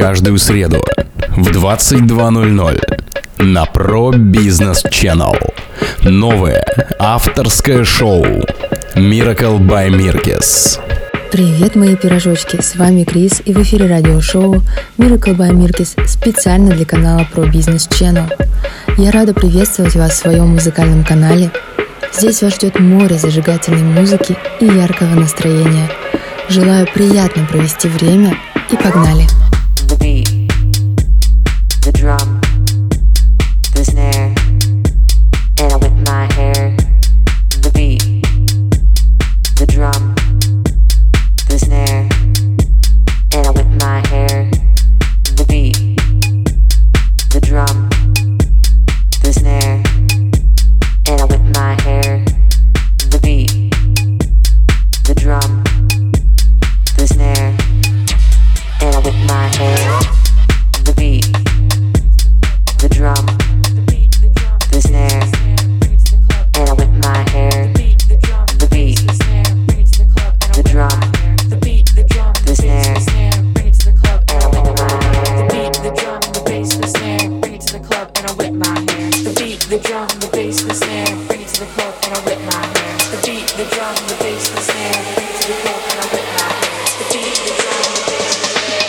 каждую среду в 22:00 на Pro Business Channel. Новое авторское шоу Miracle by Mirkis. Привет, мои пирожочки, с вами Крис, и в эфире радиошоу Miracle by Mirkis специально для канала Pro Business Channel. Я рада приветствовать вас в своем музыкальном канале. Здесь вас ждет море зажигательной музыки и яркого настроения. Желаю приятно провести время и погнали! The beat, the drum, the snare, and I whip my hair. The beat, the drum, the snare, and I whip my hair. The beat, the drum, the snare, and I whip my hair. The beat, the drum, the snare, and I whip my hair. The beat, the drum, the snare, and I whip my hair. The beat, the drum, the snare, and I whip my hair. The beat, the drum, the bass, the snare, bring it to the club and I whip my hair. The beat, the drum, the bass, the snare, bring it to the club and I whip my hair. The beat, the drum, the bass, the snare, bring it to the club and I whip my hair. The beat, the drum, the bass, the snare.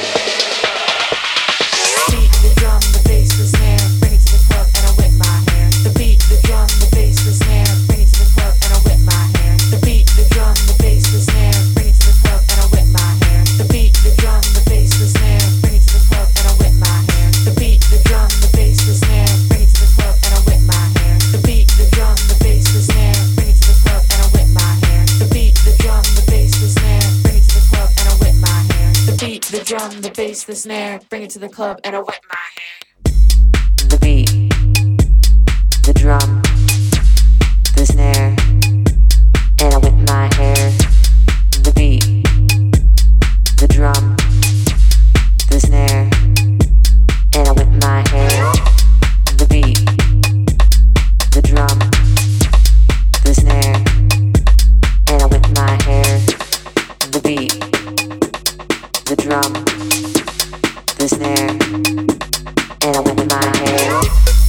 Beat, the drum, the bass, the snare, bring it to the club and I whip my hair. The beat, the drum, the bass, the snare, bring it to the club and I whip my hair. The beat, the drum, the bass, the snare, bring it to the club and I whip my hair. The beat, the drum, the bass, the snare, bring it to the club and I whip my hair. The beat, the drum, the bass, the snare, bring it to the club and I whip my hair. The beat, the drum, the bass, the snare, bring it to the club and I whip my hair. The beat, the drum, the bass, the snare, bring it to the club and I whip my hair. The beat, the drum, the bass, the snare, bring it to the club and I whip my hair. The beat, the drum, the snare, and I whip my hair. The beat, the drum, the snare, and I whip my hair. The beat, the drum, the snare, and I whip my hair. The beat, the drum, the snare, and I whip my hair.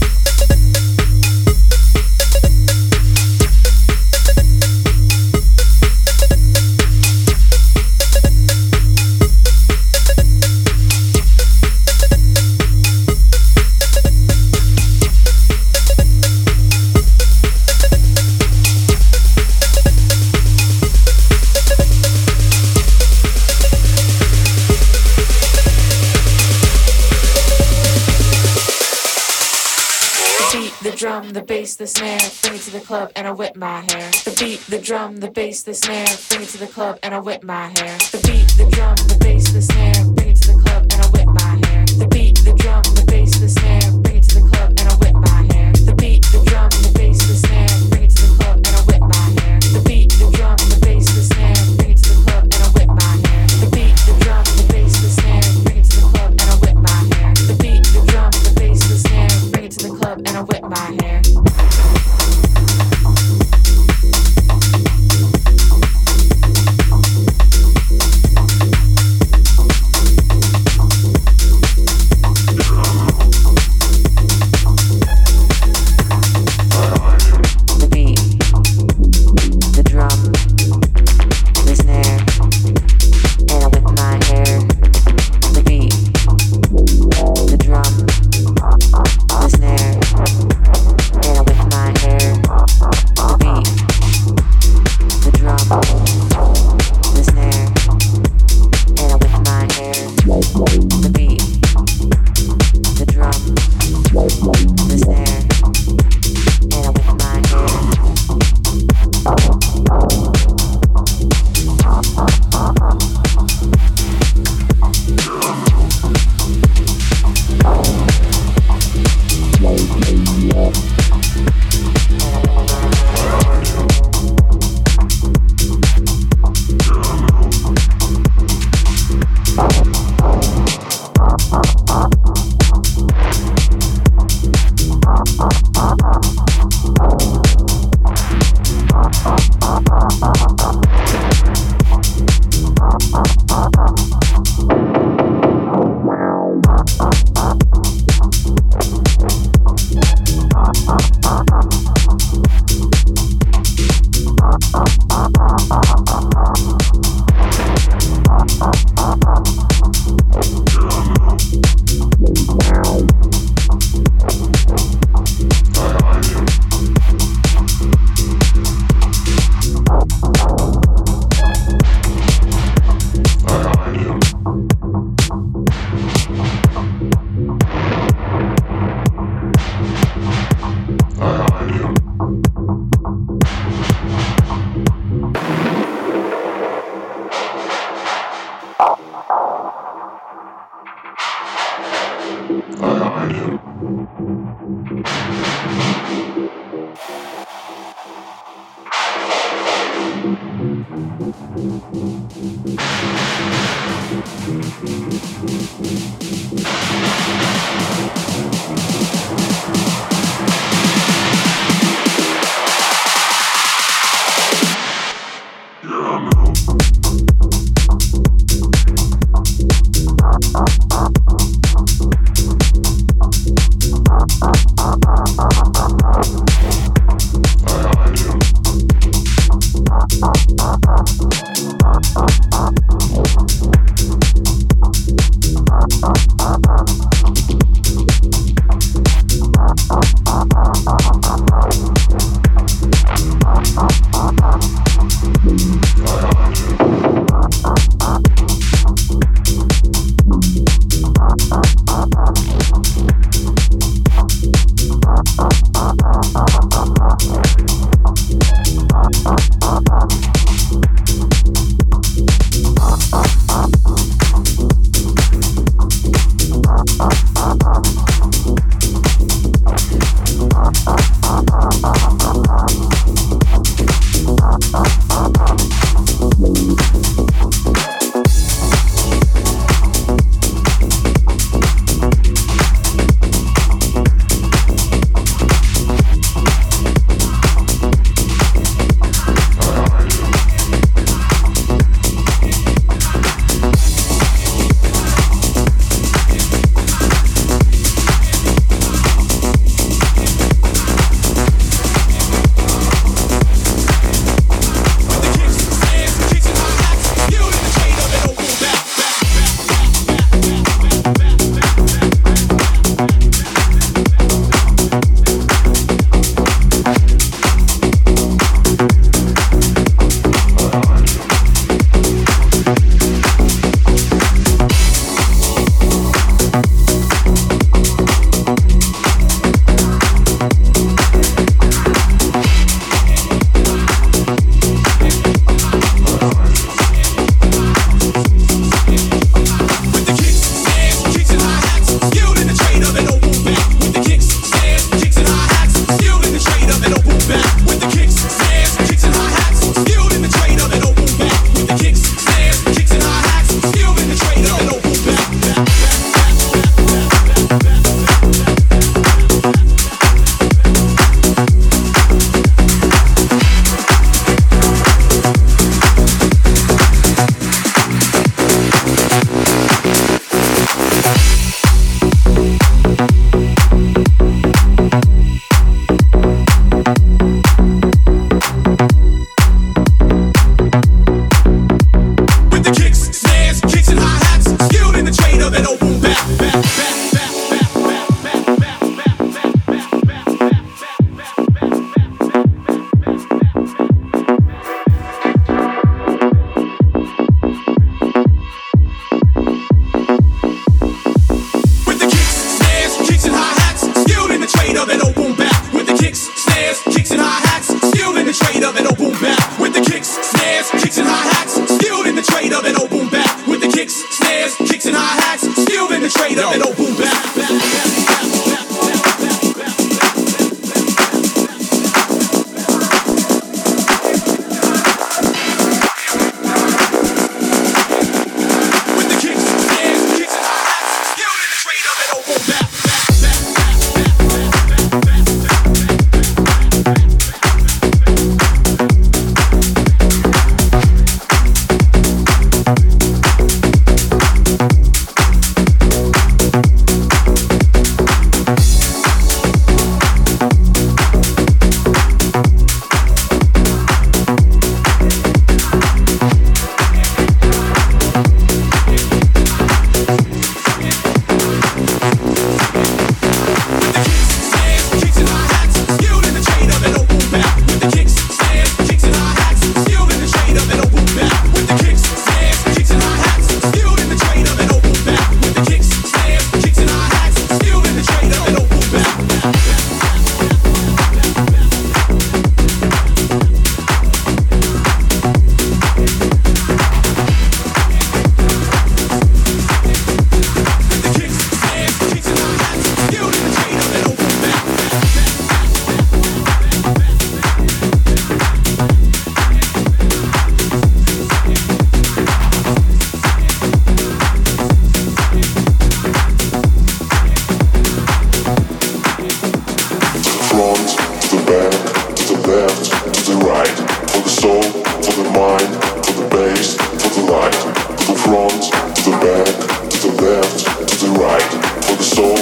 The drum, the bass, the snare, bring it to the club and I whip my hair. The beat, the drum, the bass, the snare, bring it to the club and I whip my hair. The beat, the drum, the bass, the snare, bring it to the club and I whip my hair. The beat, the drum, the bass, the snare, bring it to the club and I whip my hair. The beat, the drum, the bass, the snare, bring it to the club and I whip my hair. The beat, the drum, the bass, the snare, bring it to the club and I whip my hair. The beat, the drum, the bass, the snare, bring it to the club and I whip my hair. The beat, the drum, the bass, the snare, bring it to the club and I whip my hair.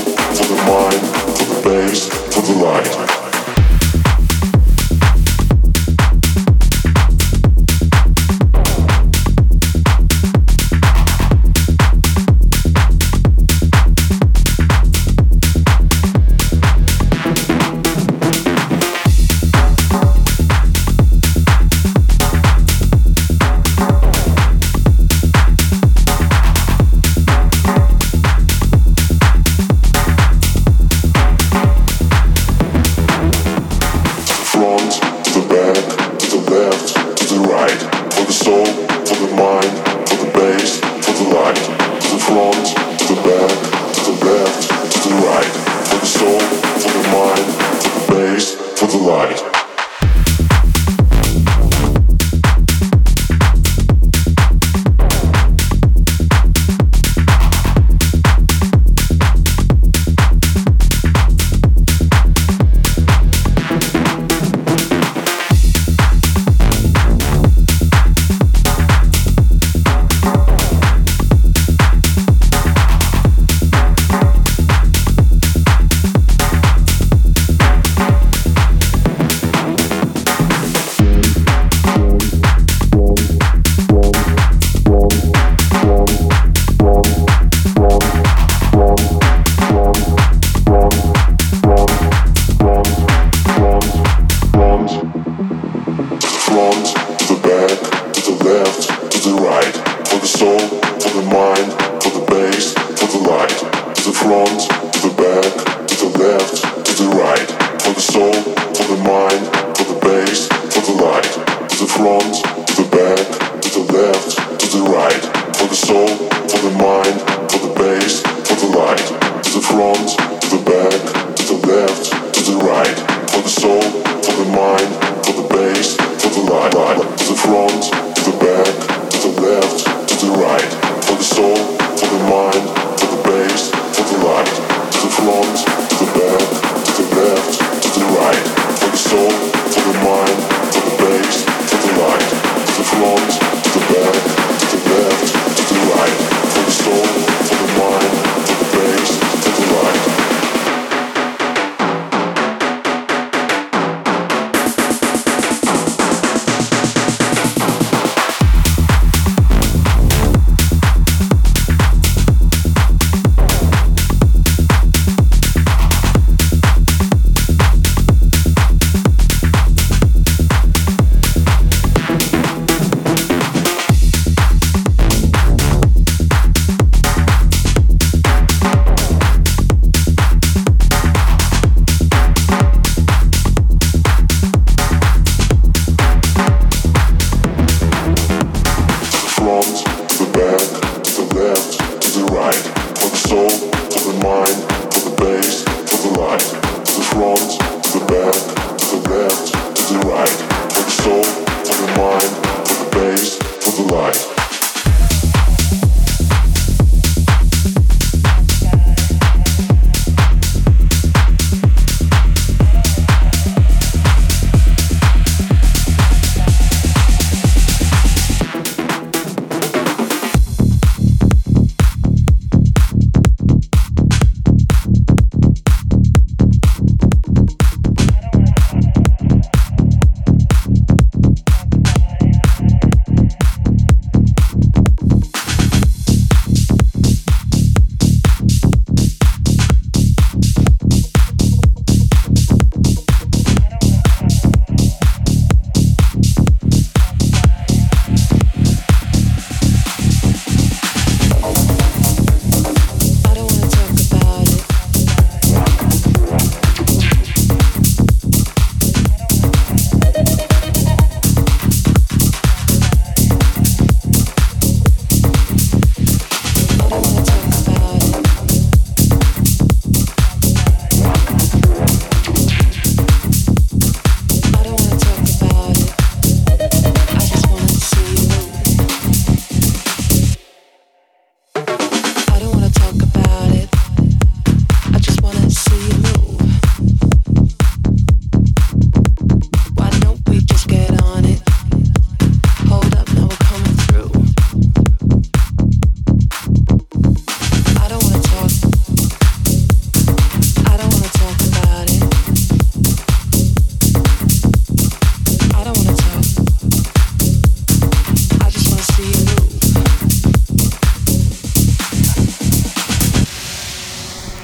for the mind, for the bass, for the light.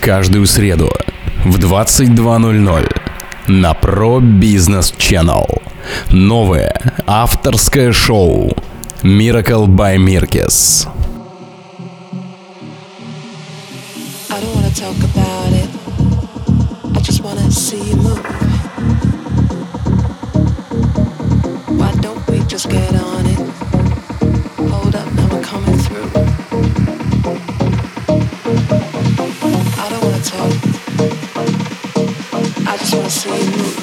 каждую среду в 22:00 на Pro Business Channel. Новое авторское шоу Miracle by Mirkes. I don't wanna talk about it. I just wanna see you move. Why don't we just get on it? Hold up, now we're coming through. I don't wanna talk. I just wanna see you move.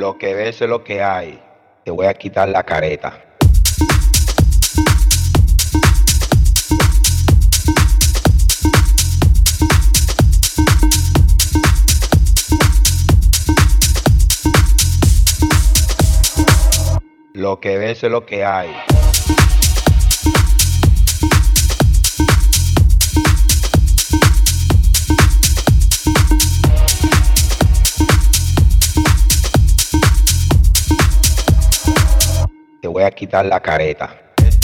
Lo que ves es lo que hay. Te voy a quitar la careta. Lo que ves es lo que hay. Te voy a quitar la careta.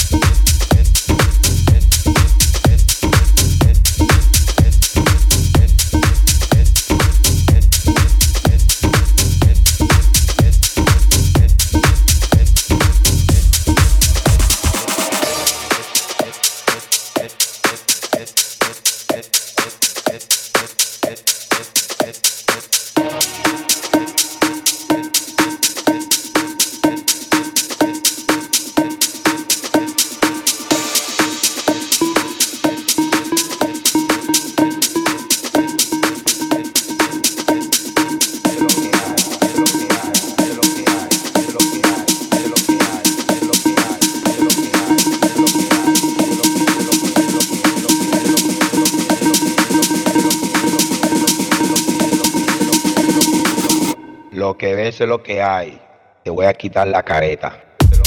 Lo que ves es lo que hay. Te voy a quitar la careta.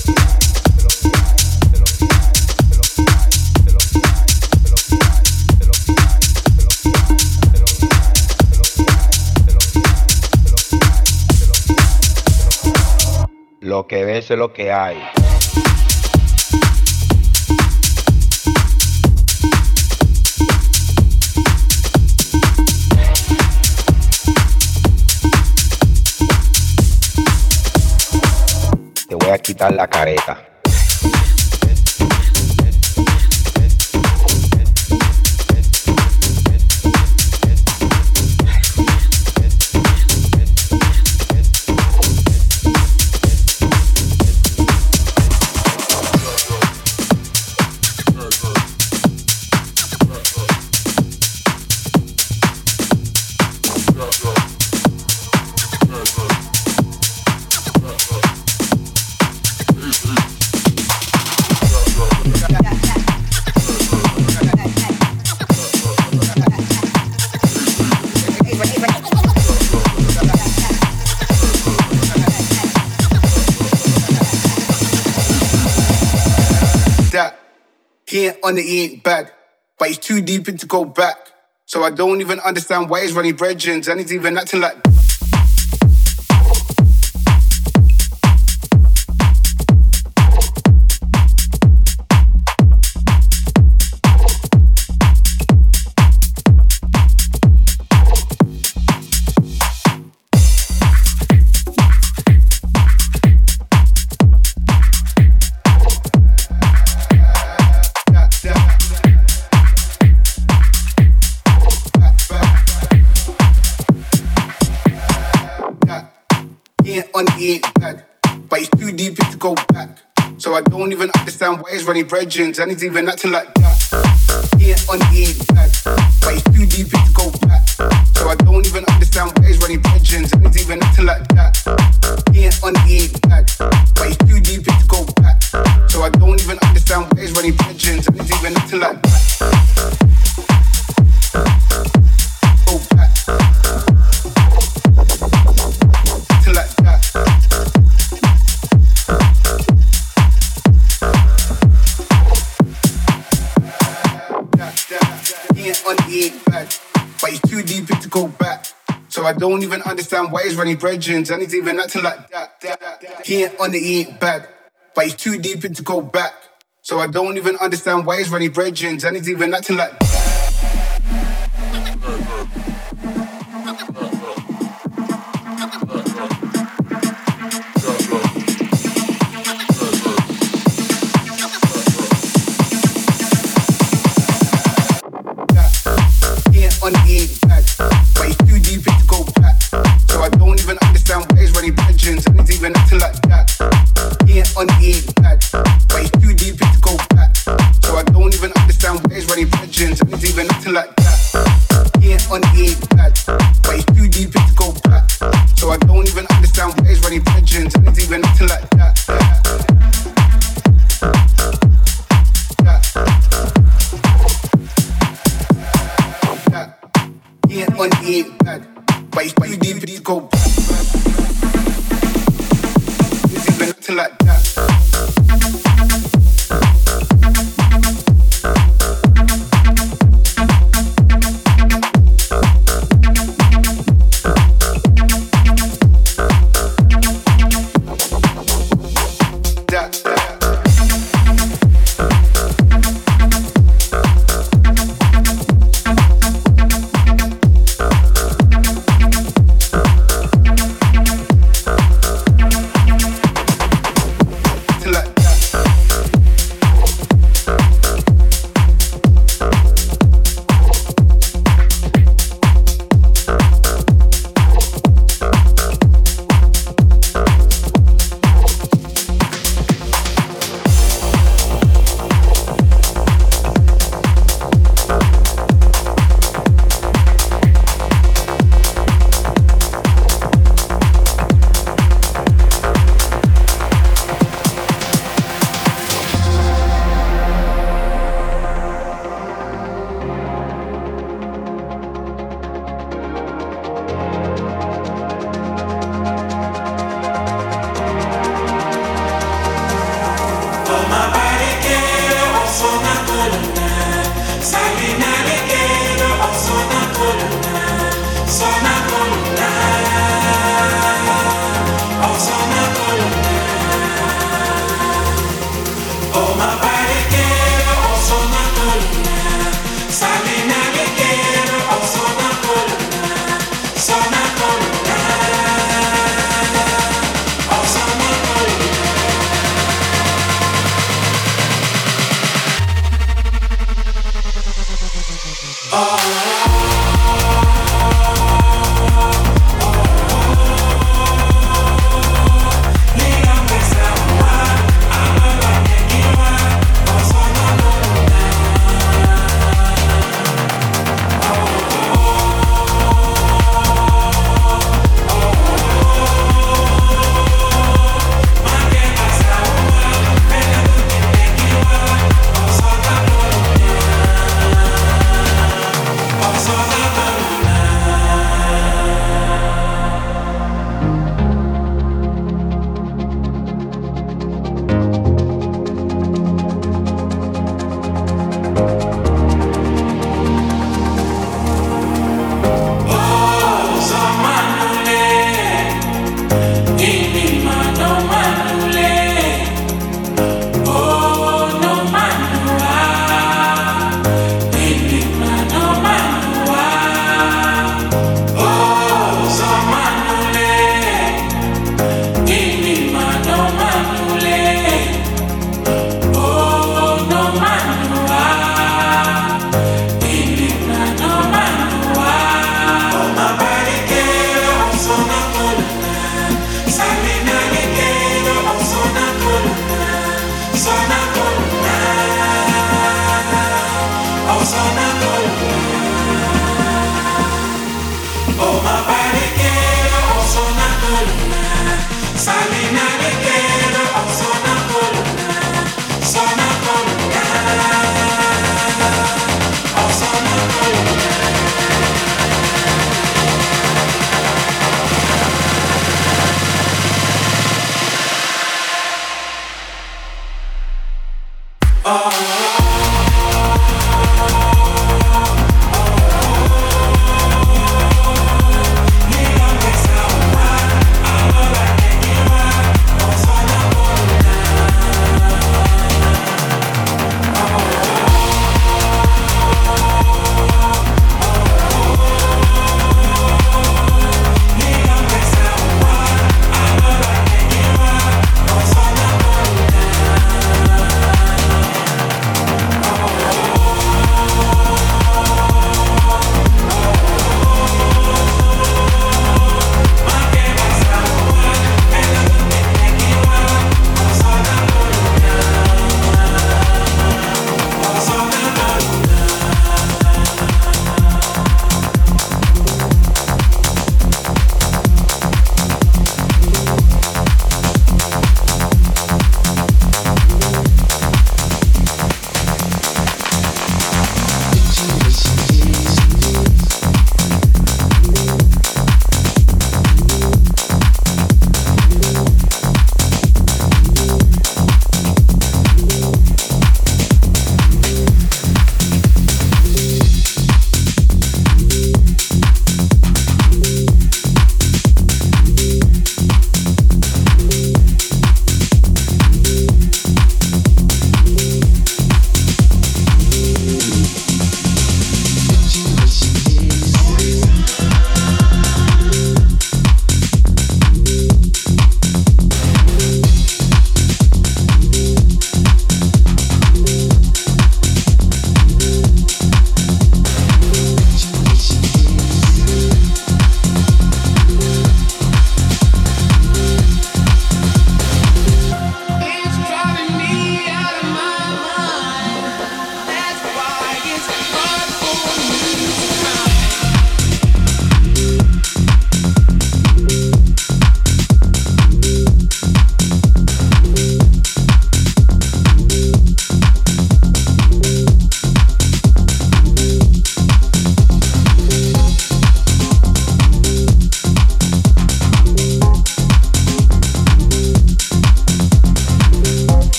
Lo que ves es lo que hay. Te voy a quitar la careta. On it, he ain't bad, but he's too deep in to go back. So I don't even understand why he's running brethrens and he's even acting like. He ain't bad, but he's too deep in to go back. So I don't even understand why he's running brethrens and he's even acting like that. He ain't bad, but he's too deep in to go back. So I don't even understand why he's running brethrens and he's even acting like that. He ain't bad, but he's too deep in to go back. So I don't even understand why he's running brethrens and he's even acting like that. Go back. Acting like that. He ain't bad, but he's too deep in to go back. So I don't even understand why he's running brethrens and he's even acting like that. He ain't bad, but he's too deep in to go back. So I don't even understand why he's running brethrens and he's even acting like that. He ain't bad, but he's too deep in to go back. So I don't even understand why he's running brethrens and he's even acting like that. He ain't bad, but he's too deep in to go back. So I don't even understand why he's running brethrens. running pigeons, and it's even nothing like that. He ain't on, he ain't bad, but he's too deep, he's go back. It's even nothing like that.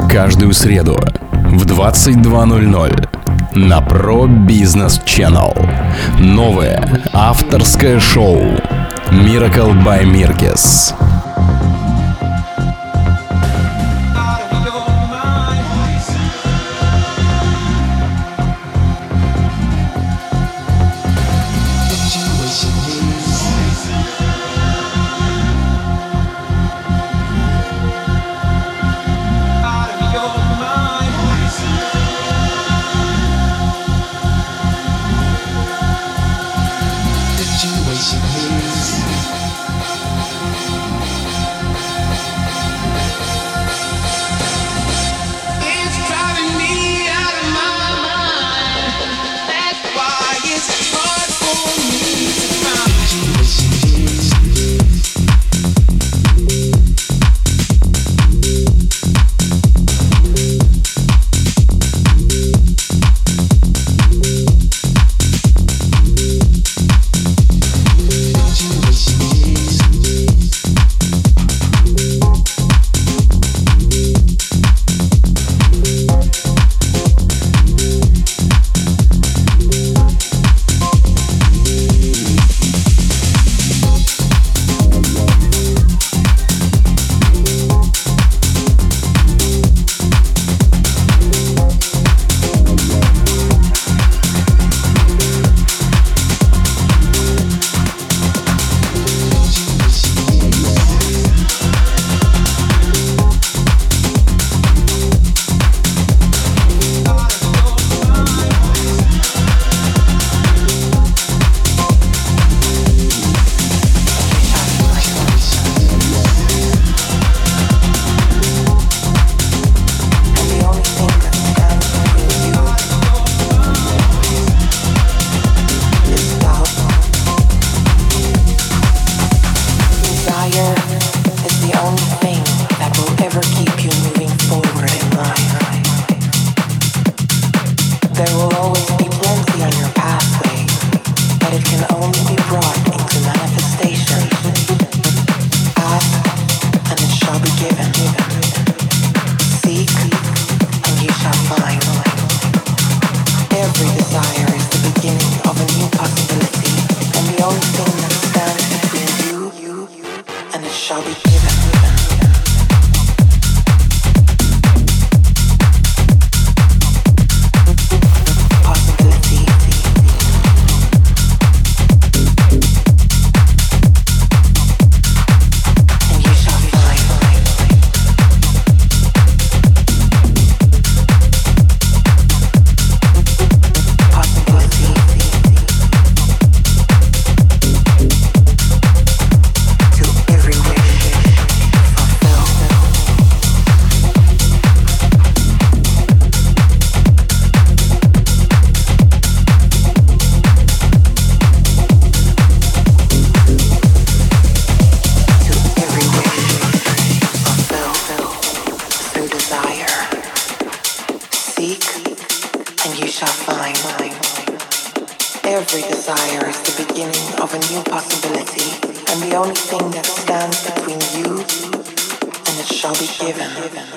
каждую среду в 22:00 на Pro Business Channel. Новое авторское шоу Miracle by Mirkes. Every desire is the beginning of a new possibility, and the only thing that stands between you and it shall be given.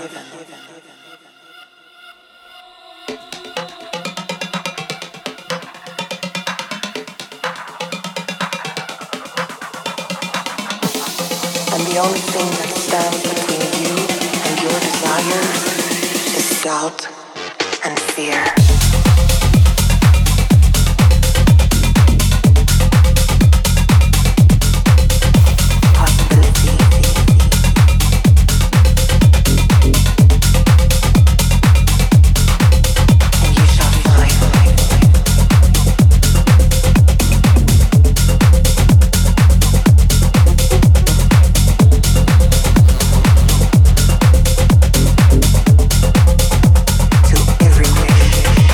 And the only thing that stands between you and your desires is doubt and fear. To every wish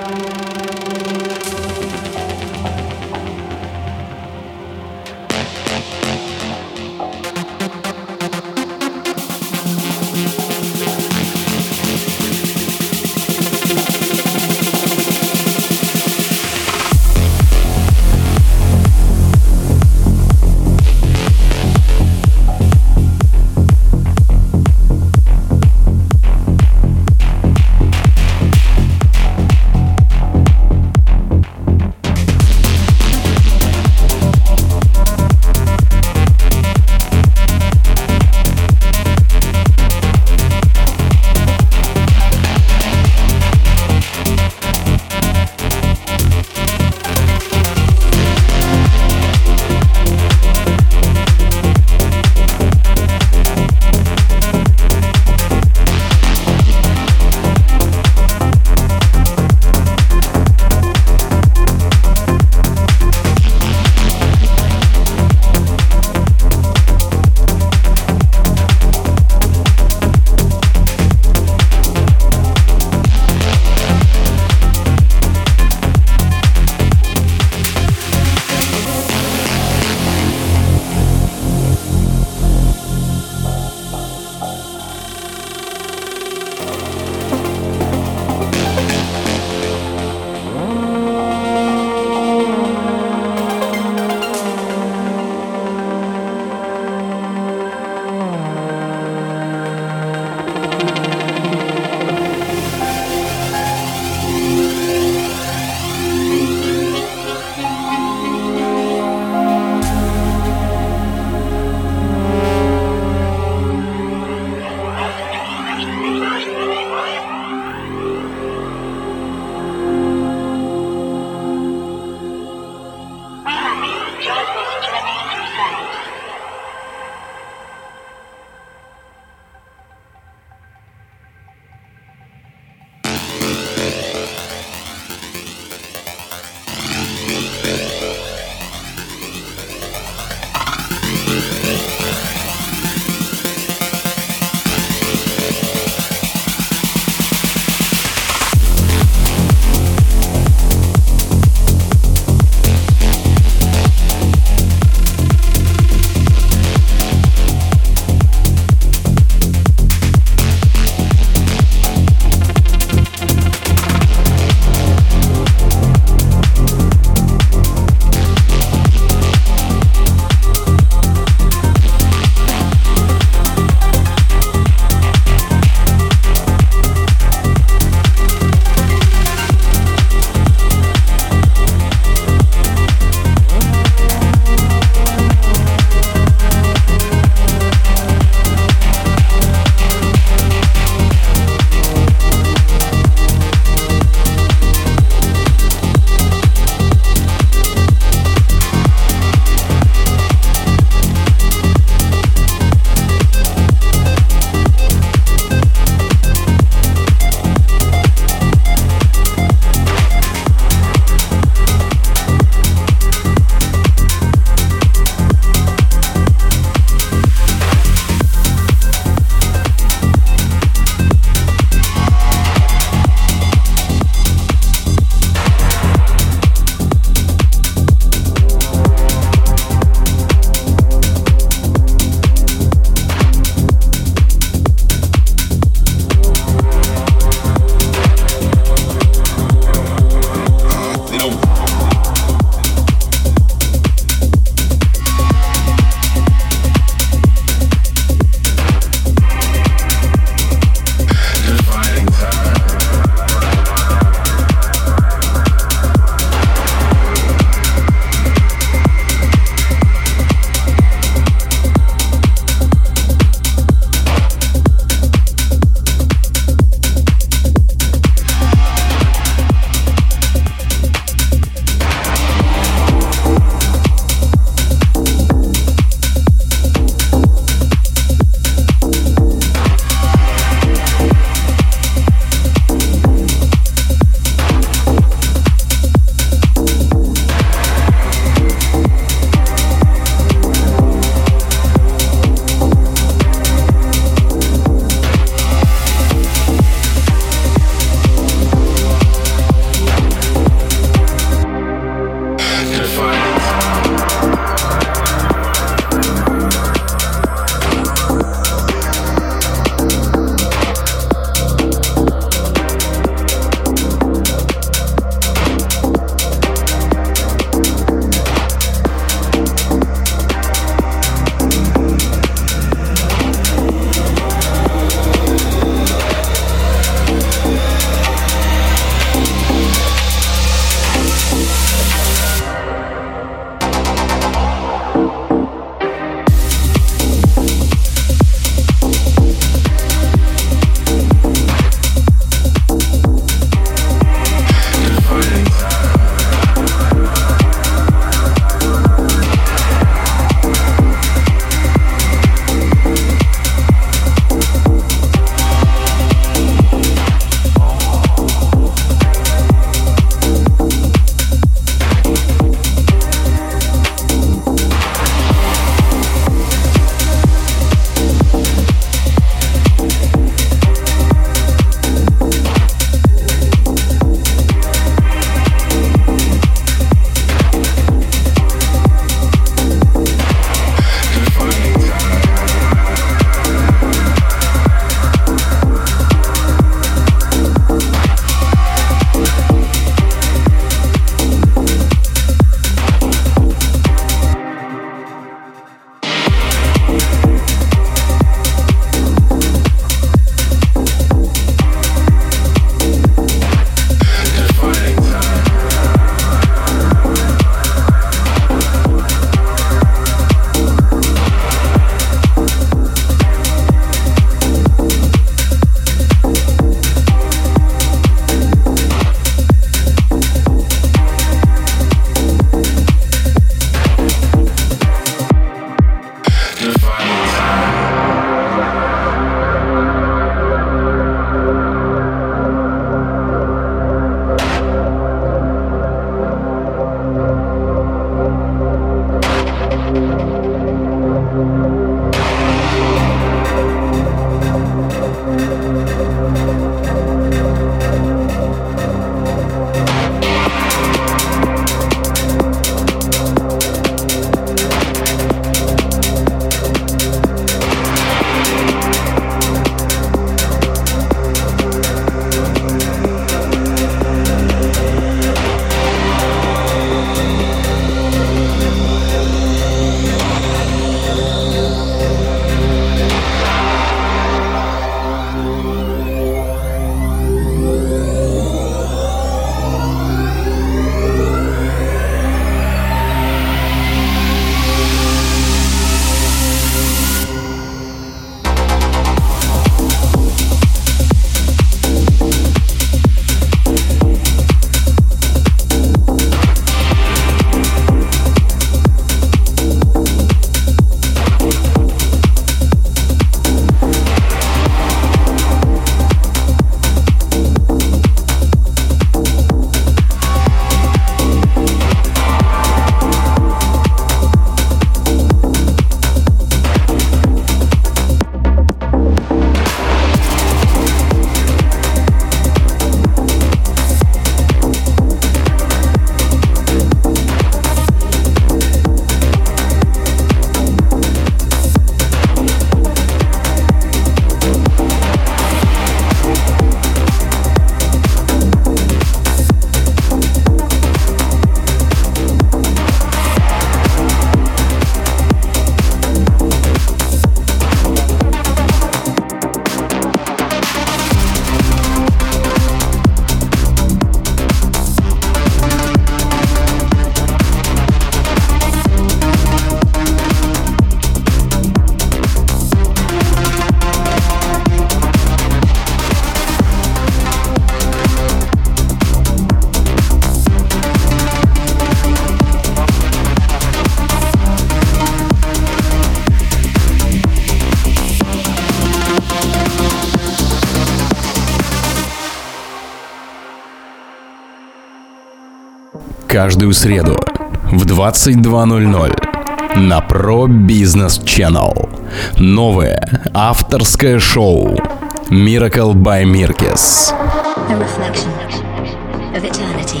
каждую среду в 22:00 на Pro Business Channel. Новое авторское шоу Miracle by Mirkes. A reflection of eternity.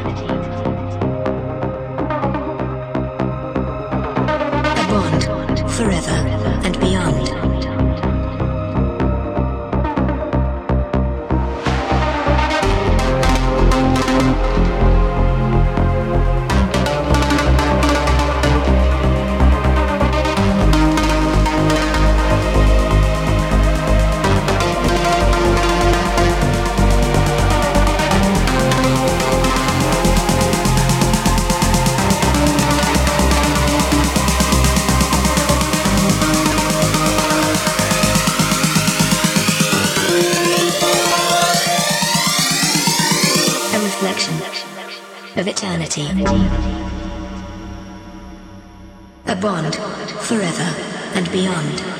A bond forever and beyond. Of eternity. A bond forever and beyond.